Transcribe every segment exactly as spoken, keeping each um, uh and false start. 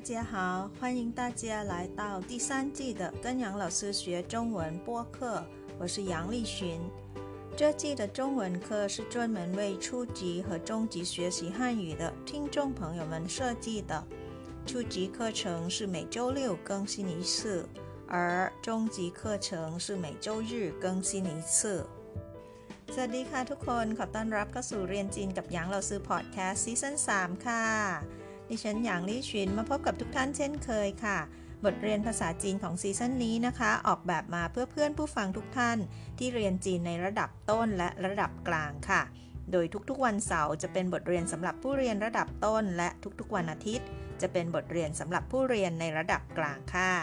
家好，欢迎大家来到第三季的跟杨老师学中文播客，我是杨丽群。这季的中文课是专门为初级和中级学习汉语的听众朋友们设计的。初级课程是每周六更新一次，而中级课程是每周日更新一次。สวัสดีค่ะทุกคนขอต้อนรับเข้าสู่เรียนจีนกับหยางเราซื้อพอดแคสต์ซีซั่นสามค่ะดิฉันหยางลี่ชินมาพบกับทุกท่านเช่นเคยค่ะบทเรียนภาษาจีนของซีซั่นนี้นะคะออกแบบมาเพื่อเพื่อนผู้ฟังทุกท่านที่เรียนจีนในระดับต้นและระดับกลางค่ะโดยทุกๆวันเสาร์จะเป็นบทเรียนสำหรับผู้เรียนระดับต้นและทุกๆวันอาทิตย์จะเป็นบทเรียนสำหรับผู้เรียนในระดับกลางค่ะ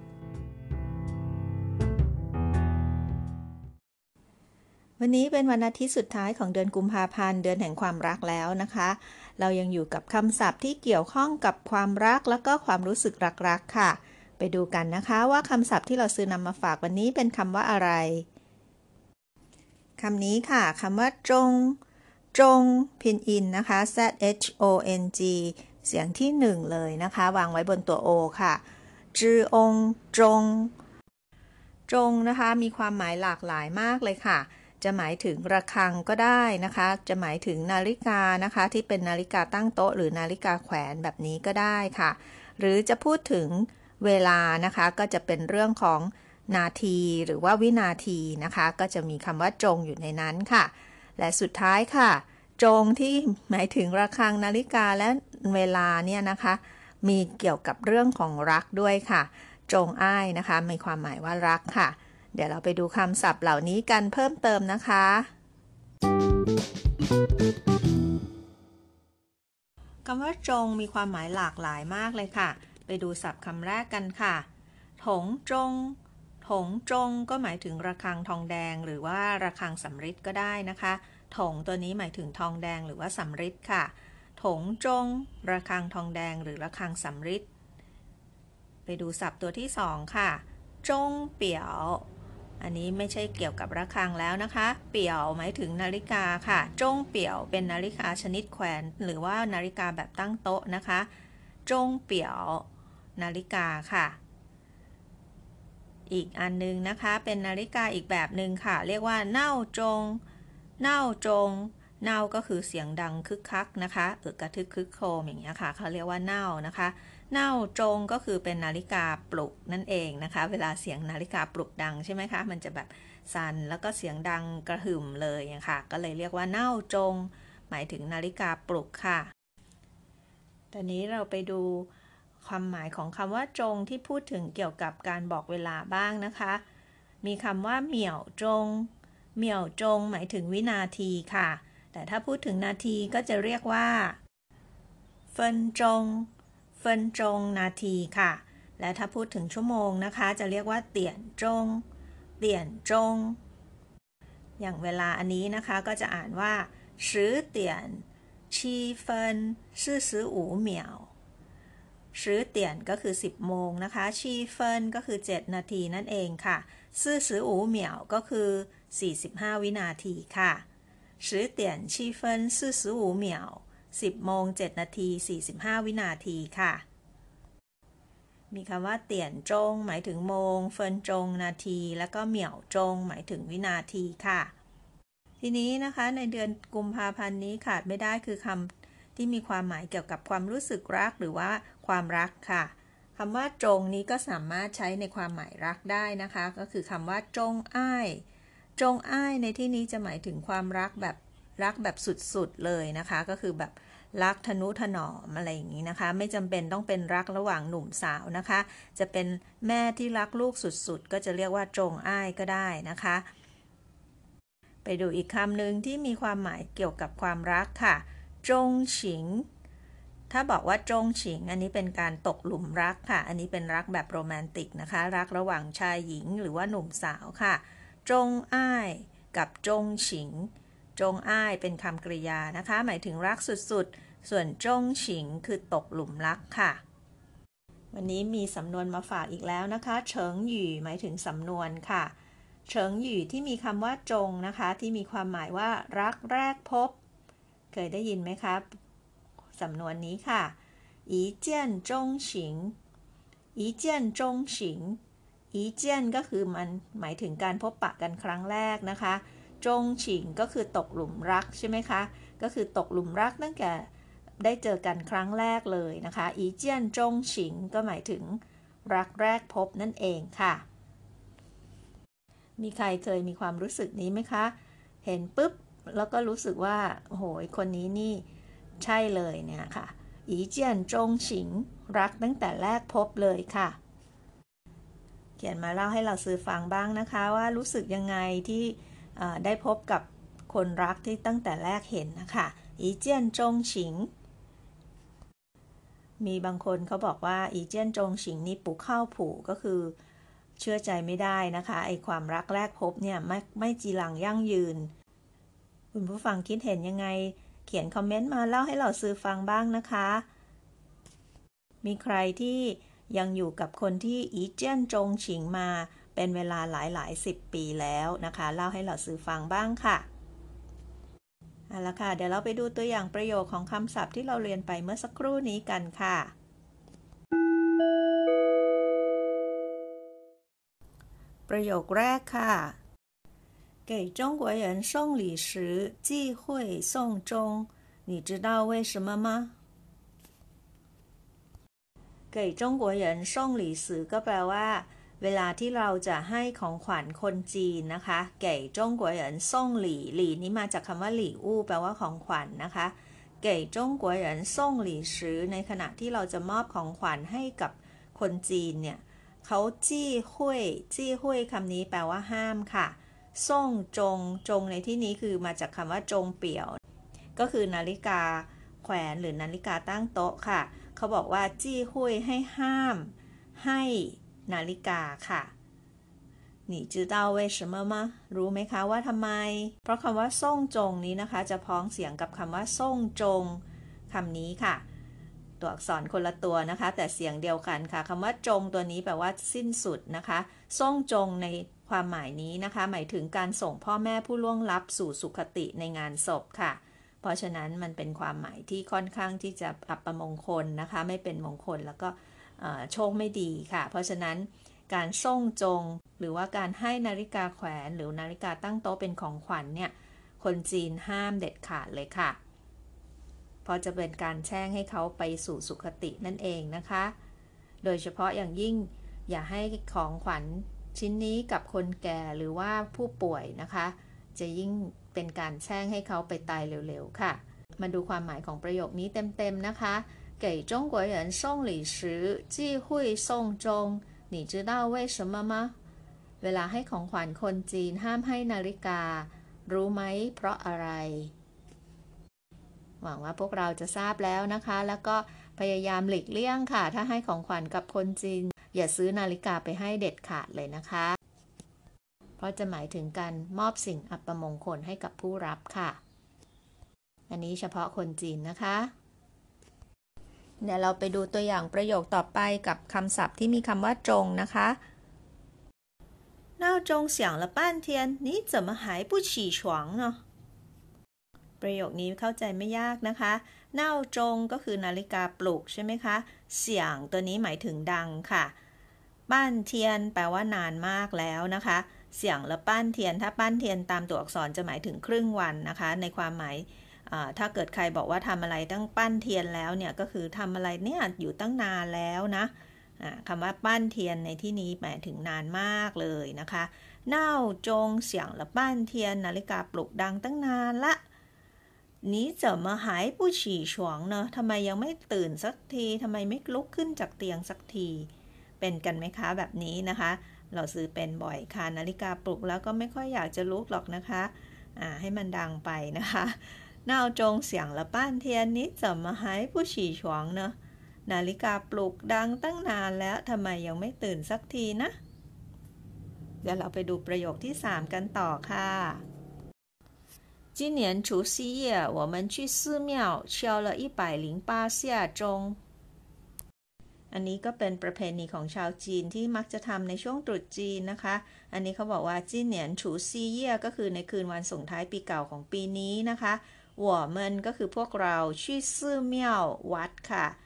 วันนี้เป็นวันอาทิตย์สุดท้ายของเดือนกุมภาพันธ์เดือนแห่งความรักแล้วนะคะเรายังอยู่กับคำศัพท์ที่เกี่ยวข้องกับความรักแล้วก็ความรู้สึกรักๆค่ะไปดูกันนะคะว่าคำศัพท์ที่เราซื้อนำมาฝากวันนี้เป็นคำว่าอะไรคำนี้ค่ะคำว่าจงจงพินอินนะคะ Z H O N G เสียงที่หนึ่งเลยนะคะวางไว้บนตัว O ค่ะจือองจงจงนะคะมีความหมายหลากหลายมากเลยค่ะจะหมายถึงระฆังก็ได้นะคะจะหมายถึงนาฬิกานะคะที่เป็นนาฬิกาตั้งโต๊ะหรือนาฬิกาแขวนแบบนี้ก็ได้ค่ะหรือจะพูดถึงเวลานะคะก็จะเป็นเรื่องของนาทีหรือว่าวินาทีนะคะก็จะมีคำว่าจงอยู่ในนั้นค่ะและสุดท้ายค่ะจงที่หมายถึงระฆังนาฬิกาและเวลาเนี่ยนะคะมีเกี่ยวกับเรื่องของรักด้วยค่ะจงอ้ายนะคะมีความหมายว่ารักค่ะเดี๋ยวเราไปดูคำศัพท์เหล่านี้กันเพิ่มเติมนะคะคำว่าจงมีความหมายหลากหลายมากเลยค่ะไปดูศัพท์คำแรกกันค่ะถงจงถงจงก็หมายถึงระฆังทองแดงหรือว่าระฆังสำริดก็ได้นะคะถงตัวนี้หมายถึงทองแดงหรือว่าสำริดค่ะถงจงระฆังทองแดงหรือระฆังสำริดไปดูศัพท์ตัวที่สองค่ะจงเปี่ยวอันนี้ไม่ใช่เกี่ยวกับระฆังแล้วนะคะเปี่ยวหมายถึงนาฬิกาค่ะจงเปี่ยวเป็นนาฬิกาชนิดแขวนหรือว่านาฬิกาแบบตั้งโต๊ะนะคะจงเปี่ยวนาฬิกาค่ะอีกอันนึงนะคะเป็นนาฬิกาอีกแบบนึงค่ะเรียกว่าเน่าจงเน่าจงเน่าก็คือเสียงดังคึกคักนะคะเออกระทึกคึกโครมอย่างเงี้ยค่ะเขาเรียกว่าเน่านะคะเน่าจงก็คือเป็นนาฬิกาปลุกนั่นเองนะคะเวลาเสียงนาฬิกาปลุกดังใช่ไหมคะมันจะแบบสั่นแล้วก็เสียงดังกระหึ่มเลยนะคะก็เลยเรียกว่าเน่าจงหมายถึงนาฬิกาปลุกค่ะตอนนี้เราไปดูความหมายของคำว่าจงที่พูดถึงเกี่ยวกับการบอกเวลาบ้างนะคะมีคำว่าเหมี่ยวจงเหมี่ยวจงหมายถึงวินาทีค่ะแต่ถ้าพูดถึงนาทีก็จะเรียกว่าเฟินจงเฟินจงนาทีค่ะและถ้าพูดถึงชั่วโมงนะคะจะเรียกว่าเตี่ยนจงเตี่ยนจงอย่างเวลาอันนี้นะคะก็จะอ่านว่าสิบเตี่ยนชีเฟินสี่สิบห้าเหมี่ยวสิบเตี่ยนก็คือสิบโมงนะคะชีเฟินก็คือเจ็ดนาทีนั่นเองค่ะสี่สิบห้าเหมี่ยวก็คือสี่สิบห้าวินาทีค่ะสิบเตี่ยนชีเฟินสี่สิบห้าเหมี่ยวสิบโมงเจ็ดนาทีสี่สิบห้าวินาทีค่ะมีคำว่าเตี่ยนจงหมายถึงโมงเฟินจงนาทีแล้วก็เหมี่ยวจงหมายถึงวินาทีค่ะทีนี้นะคะในเดือนกุมภาพันธ์นี้ขาดไม่ได้คือคำที่มีความหมายเกี่ยวกับความรู้สึกรักหรือว่าความรักค่ะคำว่าจงนี้ก็สามารถใช้ในความหมายรักได้นะคะก็คือคำว่าจงอ้ายจงอ้ายในที่นี้จะหมายถึงความรักแบบรักแบบสุดๆเลยนะคะก็คือแบบรักทนุถนอมอะไรอย่างนี้นะคะไม่จำเป็นต้องเป็นรักระหว่างหนุ่มสาวนะคะจะเป็นแม่ที่รักลูกสุดๆก็จะเรียกว่าจงอ้ายก็ได้นะคะไปดูอีกคำหนึ่งที่มีความหมายเกี่ยวกับความรักค่ะจงฉิงถ้าบอกว่าจงฉิงอันนี้เป็นการตกหลุมรักค่ะอันนี้เป็นรักแบบโรแมนติกนะคะรักระหว่างชายหญิงหรือว่าหนุ่มสาวค่ะจงอ้ายกับจงฉิงจงอ้ายเป็นคำกริยานะคะหมายถึงรักสุดๆส่วนจงฉิงคือตกหลุมรักค่ะวันนี้มีสำนวนมาฝากอีกแล้วนะคะเฉิงหยี่หมายถึงสำนวนค่ะเฉิงหยี่ที่มีคำว่าจงนะคะที่มีความหมายว่ารักแรกพบเคยได้ยินไหมคะสำนวนนี้ค่ะ一见钟情一见钟情อีเจียนก็คือมันหมายถึงการพบปะกันครั้งแรกนะคะจงฉิงก็คือตกหลุมรักใช่ไหมคะก็คือตกหลุมรักตั้งแต่ได้เจอกันครั้งแรกเลยนะคะอีเจียนจงฉิงก็หมายถึงรักแรกพบนั่นเองค่ะมีใครเคยมีความรู้สึกนี้ไหมคะเห็นปุ๊บแล้วก็รู้สึกว่าโอ้โหคนนี้นี่ใช่เลยเนี่ยค่ะอีเจียนจงฉิงรักตั้งแต่แรกพบเลยค่ะเขียนมาเล่าให้เราซื้อฟังบ้างนะคะว่ารู้สึกยังไงที่ได้พบกับคนรักที่ตั้งแต่แรกเห็นนะคะอีเจียนจงฉิงมีบางคนเขาบอกว่าอีเจียนจงฉิงนี่ปูเข้าผูก็คือเชื่อใจไม่ได้นะคะไอความรักแรกพบเนี่ยไม่ไม่จีรังยั่งยืนคุณผู้ฟังคิดเห็นยังไงเขียนคอมเมนต์มาเล่าให้เราซื้อฟังบ้างนะคะมีใครที่ยังอยู่กับคนที่อีเจียนจงฉิงมาเป็นเวลาหลายหลายสิบปีแล้วนะคะเล่าให้เราซื้อฟังบ้างค่ะเอาละค่ะเดี๋ยวเราไปดูตัวอย่างประโยคของคำศัพท์ที่เราเรียนไปเมื่อสักครู่นี้กันค่ะประโยคแรกค่ะ给中国人送礼时忌讳送钟你知道为什么吗给中国人送礼时ก็แปลว่าเวลาที่เราจะให้ของขวัญคนจีนนะคะเก๋จงกัวเหรินส่งหลี่หลี่นี้มาจากคำว่าหลี่อู้แปลว่าของขวัญ น, นะคะเก๋จงกัวเหรินส่งหลี่ซื้อในขณะที่เราจะมอบของขวัญให้กับคนจีนเนี่ยเขาจี้หุยจี้หุยคำนี้แปลว่าห้ามค่ะส่งจงจงในที่นี้คือมาจากคำว่าจงเปี่ยวก็คือนาฬิกาแขวนหรือนาฬิกาตั้งโต๊ะค่ะเขาบอกว่าจี้หุยให้ห้ามให้นาฬิกาค่ะ你知道为什么吗รู้ไหมคะว่าทำไมเพราะคำว่าส่งจงนี้นะคะจะพ้องเสียงกับคำว่าส่งจงคำนี้ค่ะตัวอักษรคนละตัวนะคะแต่เสียงเดียวกันค่ะคำว่าจงตัวนี้แปลว่าสิ้นสุดนะคะส่งจงในความหมายนี้นะคะหมายถึงการส่งพ่อแม่ผู้ล่วงลับสู่สุคติในงานศพค่ะเพราะฉะนั้นมันเป็นความหมายที่ค่อนข้างที่จะอัปมงคลนะคะไม่เป็นมงคลแล้วก็โชคไม่ดีค่ะเพราะฉะนั้นการส่งจงหรือว่าการให้นาฬิกาแขวนหรือนาฬิกาตั้งโต๊ะเป็นของขวัญเนี่ยคนจีนห้ามเด็ดขาดเลยค่ะเพราะจะเป็นการแช่งให้เขาไปสู่สุคตินั่นเองนะคะโดยเฉพาะอย่างยิ่งอย่าให้ของขวัญชิ้นนี้กับคนแก่หรือว่าผู้ป่วยนะคะจะยิ่งเป็นการแช่งให้เขาไปตายเร็วๆค่ะมาดูความหมายของประโยคนี้เต็มๆนะคะ给中国人送礼时忌讳送钟你知道为什么吗เวลาให้ของขวัญคนจีนห้ามให้นาฬิการู้ไหมเพราะอะไรหวังว่าพวกเราจะทราบแล้วนะคะแล้วก็พยายามหลีกเลี่ยงค่ะถ้าให้ของขวัญกับคนจีนอย่าซื้อนาฬิกาไปให้เด็ดขาดเลยนะคะเพราะจะหมายถึงการมอบสิ่งอัปมงคลให้กับผู้รับค่ะอันนี้เฉพาะคนจีนนะคะเดี๋ยวเราไปดูตัวอย่างประโยคต่อไปกับคำศัพท์ที่มีคำว่าจงนะคะ闹钟响了半天你怎么还不起床呢ประโยคนี้เข้าใจไม่ยากนะคะเน่าจงก็คือนาฬิกาปลุกใช่ไหมคะเสียงตัวนี้หมายถึงดังค่ะป้านเทียนแปลว่านานมากแล้วนะคะเสียงและป้านเทียนถ้าป้านเทียนตามตัวอักษรจะหมายถึงครึ่งวันนะคะในความหมายถ้าเกิดใครบอกว่าทำอะไรตั้งปั้นเทียนแล้วเนี่ยก็คือทำอะไรเนี่ยอยู่ตั้งนานแล้วนะคำว่าปั้นเทียนในที่นี้หมายถึงนานมากเลยนะคะเน่าจงเสียงและปั้นเทียนนาฬิกาปลุกดังตั้งนานละนี้จะมาหายผู้ฉี่ฉวงเนอะทำไมยังไม่ตื่นสักทีทำไมไม่ลุกขึ้นจากเตียงสักทีเป็นกันไหมคะแบบนี้นะคะเราซื้อเป็นบ่อยค่ะนาฬิกาปลุกแล้วก็ไม่ค่อยอยากจะลุกหรอกนะคะอ่าให้มันดังไปนะคะ闹钟响了半天你怎么还不起床呢นาฬิกาปลุกดังตั้งนานแล้วทำไมยังไม่ตื่นสักทีนะเดี๋ยวเราไปดูประโยคที่สามกันต่อค่ะ今年除夕夜我们去寺庙敲了一百零八下钟อันนี้ก็เป็นประเพณีของชาวจีนที่มักจะทำในช่วงตรุษจีนนะคะอันนี้เขาบอกว่าจีเหนียนฉูซีเย่ก็คือในคืนวันส่งท้ายปีเก่าของปีนี้นะคะหัวเมินก็คือพวกเราชื่อซื่อเมี่ยววัดค่ะไป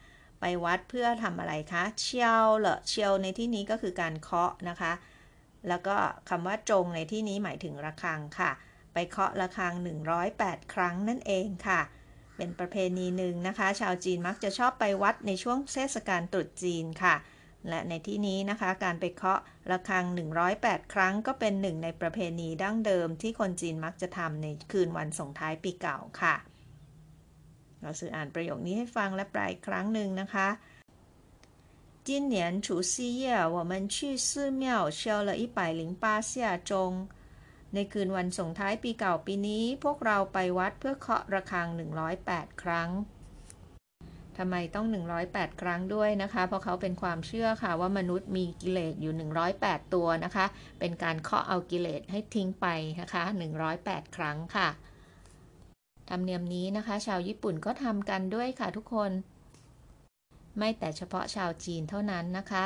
ไปวัดเพื่อทำอะไรคะเชียวเหรอเชียวในที่นี้ก็คือการเคาะนะคะแล้วก็คำว่าจงในที่นี้หมายถึงระฆังค่ะไปเคาะระฆังหนึ่งร้อยแปดครั้งนั่นเองค่ะเป็นประเพณีหนึ่งนะคะชาวจีนมักจะชอบไปวัดในช่วงเทศกาลตรุษจีนค่ะและในที่นี้นะคะการไปเคาะระฆังหนึ่งร้อยแปดครั้งก็เป็นหนึ่งในประเพณีดั้งเดิมที่คนจีนมักจะทำในคืนวันส่งท้ายปีเก่าค่ะเราสื่ออ่านประโยคนี้ให้ฟังและแปลอีกครั้งหนึ่งนะคะ今年除夕夜我们去寺庙敲了一百零八下钟ในคืนวันส่งท้ายปีเก่าปีนี้พวกเราไปวัดเพื่อเคาะระฆังหนึ่งร้อยแปดครั้งทำไมต้องหนึ่งร้อยแปดครั้งด้วยนะคะเพราะเขาเป็นความเชื่อค่ะว่ามนุษย์มีกิเลสอยู่หนึ่งร้อยแปดตัวนะคะเป็นการเคาะเอากิเลสให้ทิ้งไปนะคะหนึ่งร้อยแปดครั้งค่ะธรรมเนียมนี้นะคะชาวญี่ปุ่นก็ทำกันด้วยค่ะทุกคนไม่แต่เฉพาะชาวจีนเท่านั้นนะคะ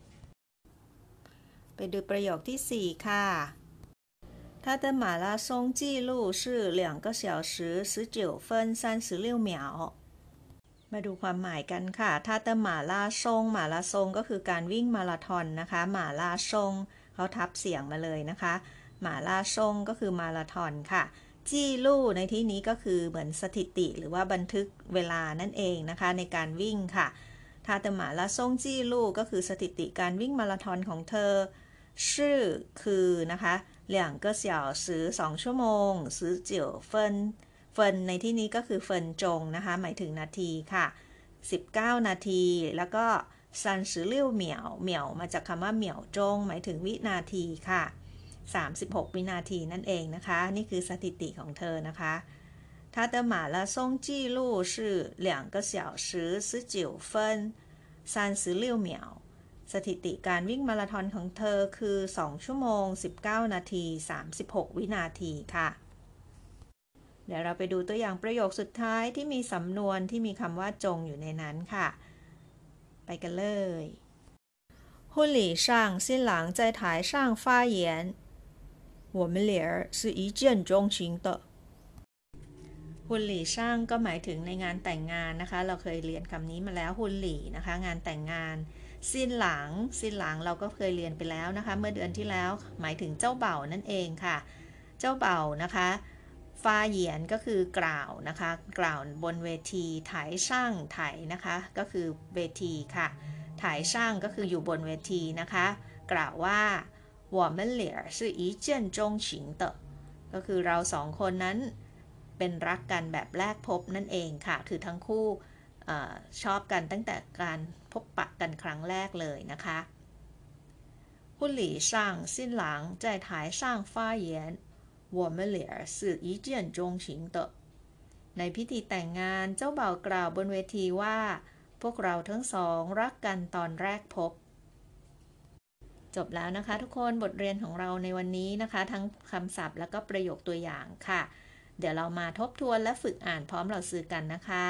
ไปดูประโยคที่สี่ค่ะ他的马拉松纪录是两个小时十九分三十六秒มาดูความหมายกันค่ะถ้าเตหมาลาซงหมาลาซงก็คือการวิ่งมาราธอนนะคะหมาลาซงเขาทับเสียงมาเลยนะคะหมาลาซงก็คือมาราธอนค่ะจี้ลู่ในที่นี้ก็คือเหมือนสถิติหรือว่าบันทึกเวลานั่นเองนะคะในการวิ่งค่ะถ้าเตหมาลาซงจี้ลู่ก็คือสถิติการวิ่งมาราธอนของเธอชื่อคือนะคะ两个小时สองชั่วโมง十九分เฟินในที่นี้ก็คือเฟินจงนะคะหมายถึงนาทีค่ะสิบเก้านาทีแล้วก็ซันสือเลี่ยวเหมียวเหมียวมาจากคำว่าเหมียวจงหมายถึงวินาทีค่ะสามสิบหกวินาทีนั่นเองนะคะนี่คือสถิติของเธอนะคะ他的马拉松纪录是两个小时十九分三十六秒สถิติการวิ่งมาราธอนของเธอคือสองชั่วโมงสิบเก้านาทีสามสิบหกวินาทีค่ะเดี๋ยวเราไปดูตัวอย่างประโยคสุดท้ายที่มีสำนวนที่มีคำว่าจงอยู่ในนั้นค่ะไปกันเลย婚礼上新郎在台上发言我们俩是一见钟情的หุนหลี่ช่างก็หมายถึงในงานแต่งงานนะคะเราเคยเรียนคำนี้มาแล้วหุนหลี่นะคะงานแต่งงานซินหลังซินหลังเราก็เคยเรียนไปแล้วนะคะเมื่อเดือนที่แล้วหมายถึงเจ้าเบ่านั่นเองค่ะเจ้าเบ่านะคะฟาเหยียนก็คือกล่าวนะคะกล่าวบนเวทีถ่ายช่างถ่ายนะคะก็คือเวทีค่ะถ่ายช่างก็คืออยู่บนเวทีนะคะกล่าวว่า我们俩是一见钟情的ก็คือเราสองคนนั้นเป็นรักกันแบบแรกพบนั่นเองค่ะคือทั้งคู่เอ่อชอบกันตั้งแต่การพบปะกันครั้งแรกเลยนะคะ婚礼上新郎在台上发言我们俩是一见钟情的ในพิธีแต่งงานเจ้าบ่าวกล่าวบนเวทีว่าพวกเราทั้งสองรักกันตอนแรกพบจบแล้วนะคะทุกคนบทเรียนของเราในวันนี้นะคะทั้งคำศัพท์และก็ประโยคตัวอย่างค่ะเดี๋ยวเรามาทบทวนและฝึกอ่านพร้อมเราสื่อกันนะคะ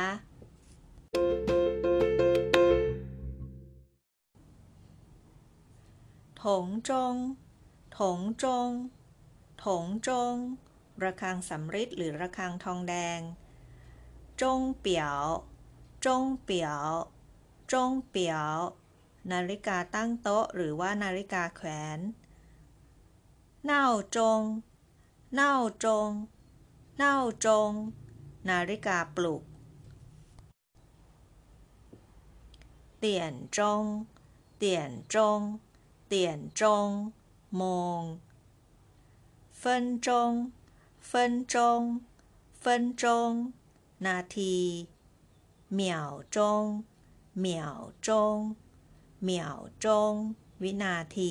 ถงจงถงจงถงจงระฆังสำริดหรือระฆังทองแดงจงเปียวจงเปียวจงเปียวนาฬิกาตั้งโต๊ะหรือว่านาฬิกาแขวนเน่าจงเน่าจงเน่าจงนาฬิกาปลุกเตี่ยนจงเตี่ยนจงเตี่ยนจงโมงเฟินจงเฟินจงเฟินจงนาทีเหมี่ยวจงเหมี่ยวจงเหมี่ยวจงวินาที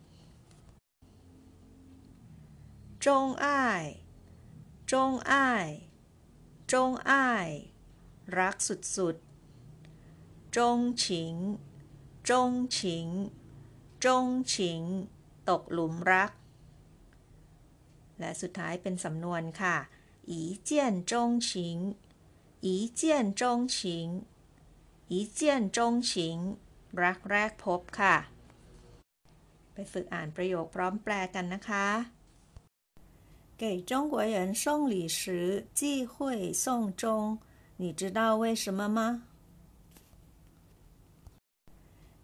จงอ้ายจงอ้ายจงอ้ายรักสุดๆจงฉิงจงฉิงจงฉิงตกหลุมรักและสุดท้ายเป็นสำนวนค่ะอีเจียนจงฉิงอีเจียนจงฉิงอีเจียนจงฉิงรักแรกพบค่ะไปฝึกอ่านประโยคพร้อมแปลกันนะคะ给中国人送礼时忌讳送钟你知道为什么吗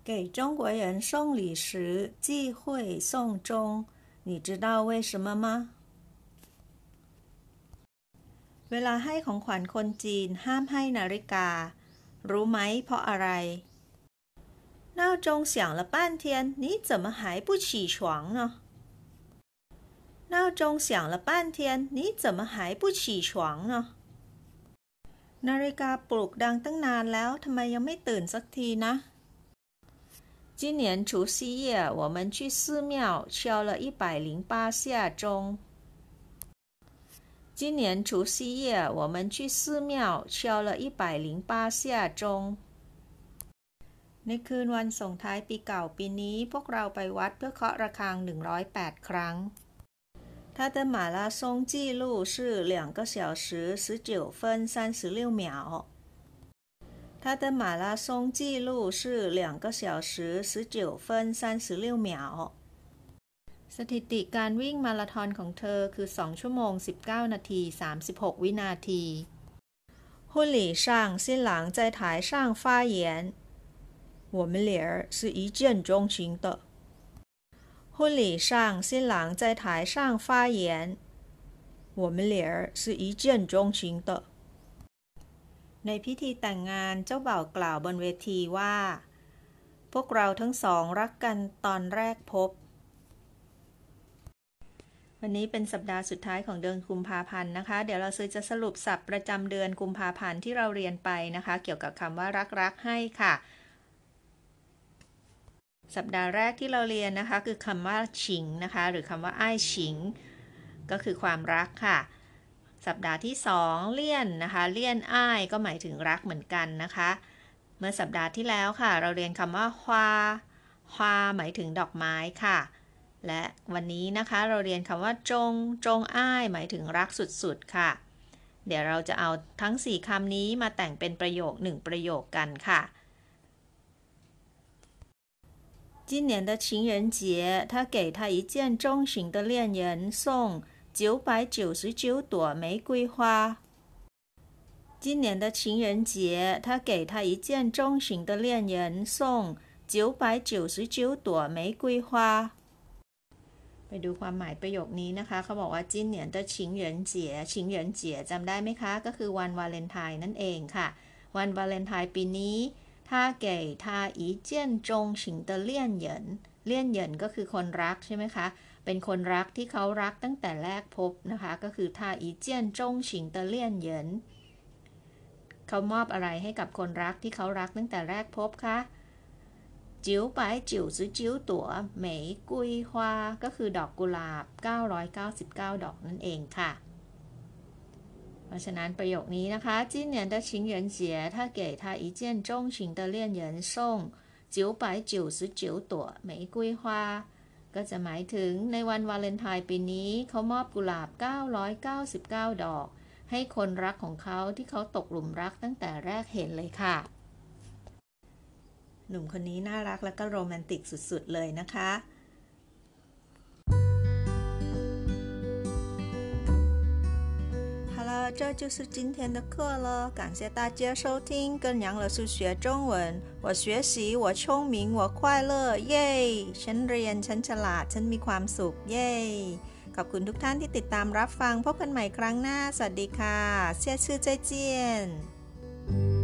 给中国人送礼时忌讳送钟，你知道为什么吗？เวลาให้ของขวัญคนจีนห้ามให้นาฬิการู้ไหมเพราะอะไร闹钟响了半天你怎么还不起床呢闹钟响了半天你怎么还不起床呢นาฬิกาปลุกดังตั้งนานแล้วทำไมยังไม่ตื่นสักทีนะ今年除夕夜我们去寺庙敲了一百零八下钟今年除夕夜我们去寺庙敲了一百零八下钟ในคืนวันส่งท้ายปีเก่าปีนี้พวกเราไปวัดเพื่อเคาะระฆังหนึ่งร้อยแปดครั้ง他的马拉松纪录是两个小时十九分三十六秒他的马拉松纪录是两个小时十九分三十六秒สถิติการวิ่งมาราธอนของเธอคือสองชั่วโมงสิบเก้านาทีสามสิบหกวินาที婚礼上新郎在台上发言我们俩是一见钟情的婚礼上新郎在台上发言我们俩是一见钟情的ในพิธีแต่งงานเจ้าบ่าวกล่าวบนเวทีว่าพวกเราทั้งสองรักกันตอนแรกพบวันนี้เป็นสัปดาห์สุดท้ายของเดือนกุมภาพันธ์นะคะเดี๋ยวเราจะสรุปศัพท์ประจำเดือนกุมภาพันธ์ที่เราเรียนไปนะคะเกี่ยวกับคำว่ารักรักให้ค่ะสัปดาห์แรกที่เราเรียนนะคะคือคำว่าฉิงนะคะหรือคำว่าอ้ายฉิงก็คือความรักค่ะสัปดาห์ที่สองเลี่ยนนะคะเลี่ยนอ้ายก็หมายถึงรักเหมือนกันนะคะเมื่อสัปดาห์ที่แล้วค่ะเราเรียนคำว่าฮวาฮวาหมายถึงดอกไม้ค่ะและวันนี้นะคะเราเรียนคำว่าจงจงอ้ายหมายถึงรักสุดๆค่ะเดี๋ยวเราจะเอาทั้งสี่คำนี้มาแต่งเป็นประโยคหนึ่งประโยคกันค่ะ今年的情人节他给他一见钟情的恋人送九百九十九朵玫瑰花今年的情人节他给他一见钟情的恋人送九百九十九朵玫瑰花ไปดูความหมายประโยคนี้นะคะเขาบอกว่าจิ้นเหนียนเตอร์ชิงเหรินเจี๋ยชิงเหรินเจี๋ยจำได้ไหมคะก็คือวันวาเลนไทน์นั่นเองค่ะวันวาเลนไทน์ปีนี้他给他一见钟情的恋人เลี่ยนเหยินก็คือคนรักใช่ไหมคะเป็นคนรักที่เขารักตั้งแต่แรกพบนะคะก็คือ他一见钟情的恋人เขามอบอะไรให้กับคนรักที่เขารักตั้งแต่แรกพบคะ九百九十九朵玫瑰花ก็คือดอกกุหลาบเก้าร้อยเก้าสิบเก้าดอกนั่นเองค่ะเพราะฉะนั้นประโยคนี้นะคะ今年的情人节他给他一见钟情的恋人送九百九十九朵玫瑰花ก็จะหมายถึงในวันวาเลนไทน์ปีนี้เขามอบกุหลาบเก้าร้อยเก้าสิบเก้าดอกให้คนรักของเขาที่เขาตกหลุมรักตั้งแต่แรกเห็นเลยค่ะหนุ่มคนนี้น่ารักและก็โรแมนติกสุดๆเลยนะคะ好了，这就是今天的课了。感谢大家收听跟杨老师学中文。我学习，我聪明，我快乐，耶！ฉันเรียนฉันฉลาดฉันมีความสุขเย้ขอบคุณทุกท่านที่ติดตามรับฟังพบกันใหม่ครั้งหน้าสวัสดีค่ะเสียชื่อใจเจียน